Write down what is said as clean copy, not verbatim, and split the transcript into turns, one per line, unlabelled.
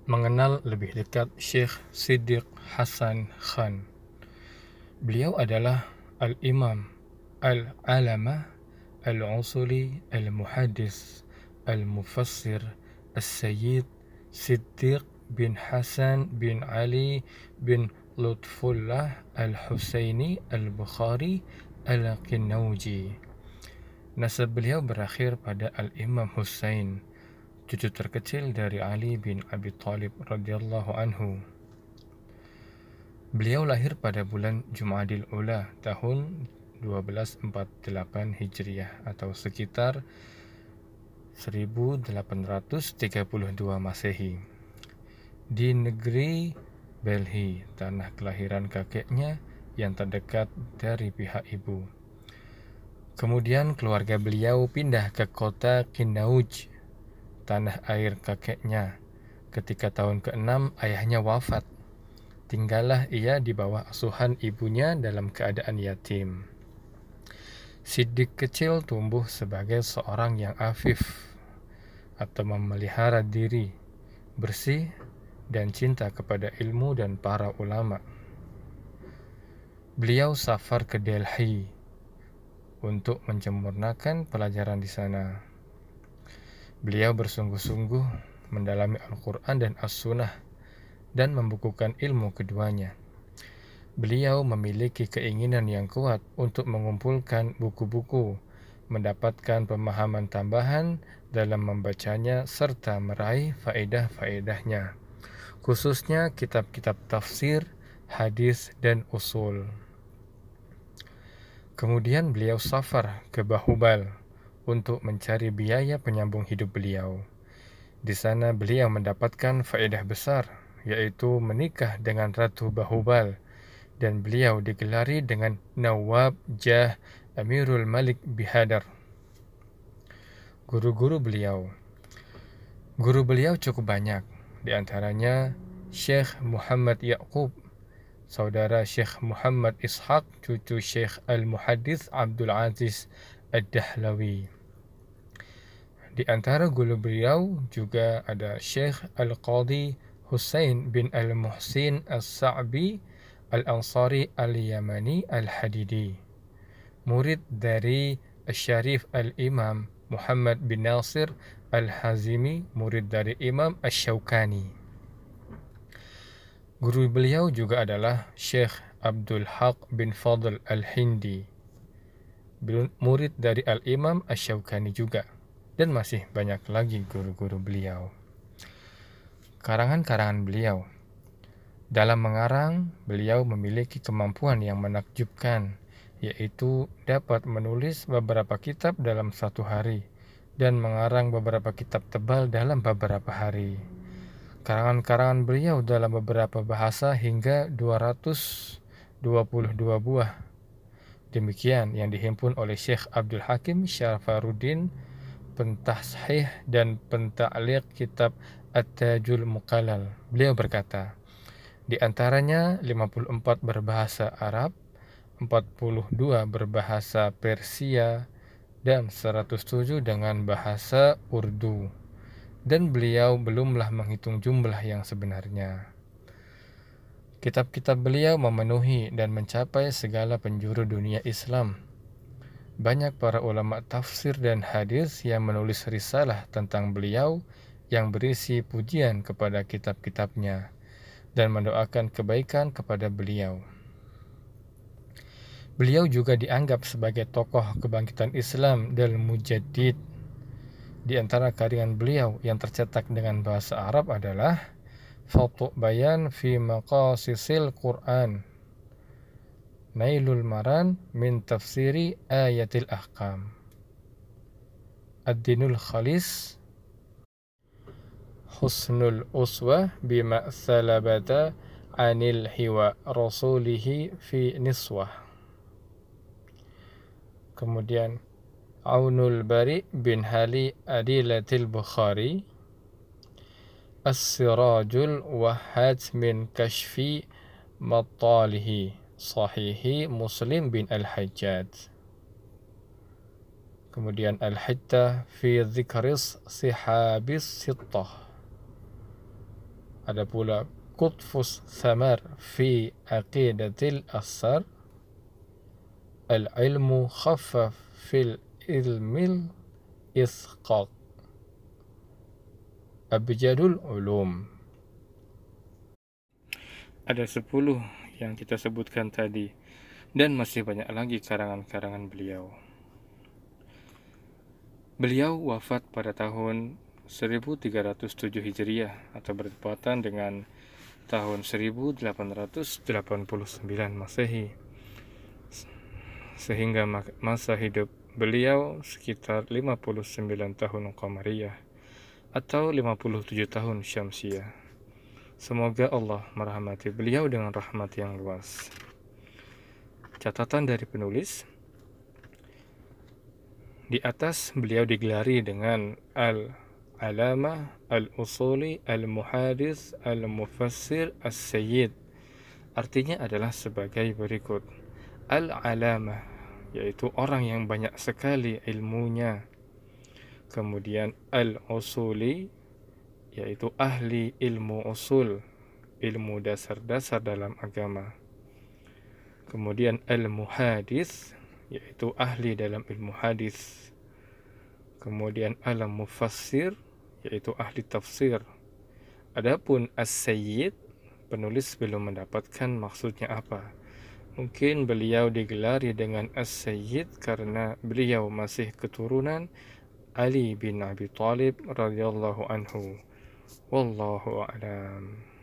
mengenal lebih dekat Syekh Siddiq Hasan Khan. Beliau adalah Al-Imam Al-Alamah Al-Usuli Al-Muhaddis Al-Mufassir Al-Sayyid Siddiq bin Hasan bin Ali bin Lutfullah Al-Husaini Al-Bukhari Al-Qinnauji. Nasab beliau berakhir pada Al-Imam Husain, cucu terkecil dari Ali bin Abi Thalib radhiyallahu anhu. Beliau lahir pada bulan Jumadil Ula tahun 1248 Hijriah atau sekitar 1832 Masehi di negeri Belhi, tanah kelahiran kakeknya yang terdekat dari pihak ibu. Kemudian keluarga beliau pindah ke kota Qinnauj, tanah air kakeknya. Ketika tahun ke-6 ayahnya wafat, tinggallah ia di bawah asuhan ibunya dalam keadaan yatim. Siddiq kecil tumbuh sebagai seorang yang afif atau memelihara diri, bersih, dan cinta kepada ilmu dan para ulama. Beliau safar ke Delhi untuk menyempurnakan pelajaran di sana. Beliau bersungguh-sungguh mendalami Al-Quran dan As-Sunnah dan membukukan ilmu keduanya. Beliau memiliki keinginan yang kuat untuk mengumpulkan buku-buku, mendapatkan pemahaman tambahan dalam membacanya, serta meraih faedah-faedahnya, khususnya kitab-kitab tafsir, hadis, dan usul. Kemudian beliau safar ke Bahubal untuk mencari biaya penyambung hidup beliau. Di sana beliau mendapatkan faedah besar, yaitu menikah dengan Ratu Bahubal, dan beliau digelari dengan Nawab Jah Amirul Malik Bihadar. Guru beliau cukup banyak, di antaranya Syekh Muhammad Yaqub, saudara Syekh Muhammad Ishaq, cucu Syekh Al-Muhaddis Abdul Aziz Ad-Dahlawi. Di antara guru beliau juga ada Syekh Al-Qadhi Husain bin Al-Muhsin As-Sa'bi Al-Ansari Al-Yamani Al-Hadidi, murid dari Syarif Al-Imam Muhammad bin Nasir Al-Hazimi, murid dari Imam Asy-Syaukani. Guru beliau juga adalah Syekh Abdul Haq bin Fadl Al-Hindi, murid dari Al-Imam Asy-Syaukani juga, dan masih banyak lagi guru-guru beliau. Karangan-karangan beliau. Dalam mengarang, beliau memiliki kemampuan yang menakjubkan, yaitu dapat menulis beberapa kitab dalam satu hari dan mengarang beberapa kitab tebal dalam beberapa hari. Karangan-karangan beliau dalam beberapa bahasa hingga 222 buah. Demikian yang dihimpun oleh Syekh Abdul Hakim Syarafaruddin, pentashih dan penta'liq kitab At-Tajul Muqallal. Beliau berkata, di antaranya 54 berbahasa Arab, 42 berbahasa Persia, dan 107 dengan bahasa Urdu. Dan beliau belumlah menghitung jumlah yang sebenarnya. Kitab-kitab beliau memenuhi dan mencapai segala penjuru dunia Islam. Banyak para ulama tafsir dan hadis yang menulis risalah tentang beliau yang berisi pujian kepada kitab-kitabnya dan mendoakan kebaikan kepada beliau. Beliau juga dianggap sebagai tokoh kebangkitan Islam dan mujaddid. Di antara karya beliau yang tercetak dengan bahasa Arab adalah Fathu Bayan fi Maqasisil Quran, Nailul Maran min Tafsiri Ayatil Ahkam, Ad-Dinul Khalis, Husnul Uswah bima salabata anil hiwa rasulihi fi niswah. Kemudian Aunul Bari bin Hali Adilatil Bukhari, As-Sirajul Wahhad min Kashfi Mattalihi, Sahihi Muslim bin Al-Hajjaj. Kemudian Al-Hittah fi Dzikris Sihabis Sittah, Ada pula qutfus thamar fi aqidatil asar, al-ilmu khaffaf fil ilmil isqaq, abjadul ulum. Ada 10 yang kita sebutkan tadi, dan masih banyak lagi karangan-karangan beliau. Beliau wafat pada tahun 1307 Hijriah atau bertepatan dengan tahun 1889 Masehi. Sehingga masa hidup beliau sekitar 59 tahun Qamariyah atau 57 tahun Syamsiyah. Semoga Allah merahmati beliau dengan rahmat yang luas. Catatan dari penulis, di atas beliau digelari dengan Al-Alamah, Al-Usuli, Al-Muhadis, Al-Mufassir, As-Sayyid. Artinya adalah sebagai berikut. Al-Alamah, yaitu orang yang banyak sekali ilmunya. Kemudian Al-Usuli, yaitu ahli ilmu usul, ilmu dasar-dasar dalam agama. Kemudian Al-Muhadis, yaitu ahli dalam ilmu hadis. Kemudian Al-Mufassir, yaitu ahli tafsir. Adapun As-Sayyid, penulis belum mendapatkan maksudnya apa. Mungkin beliau digelari dengan As-Sayyid karena beliau masih keturunan Ali bin Abi Thalib radhiyallahu anhu. Wallahu a'lam.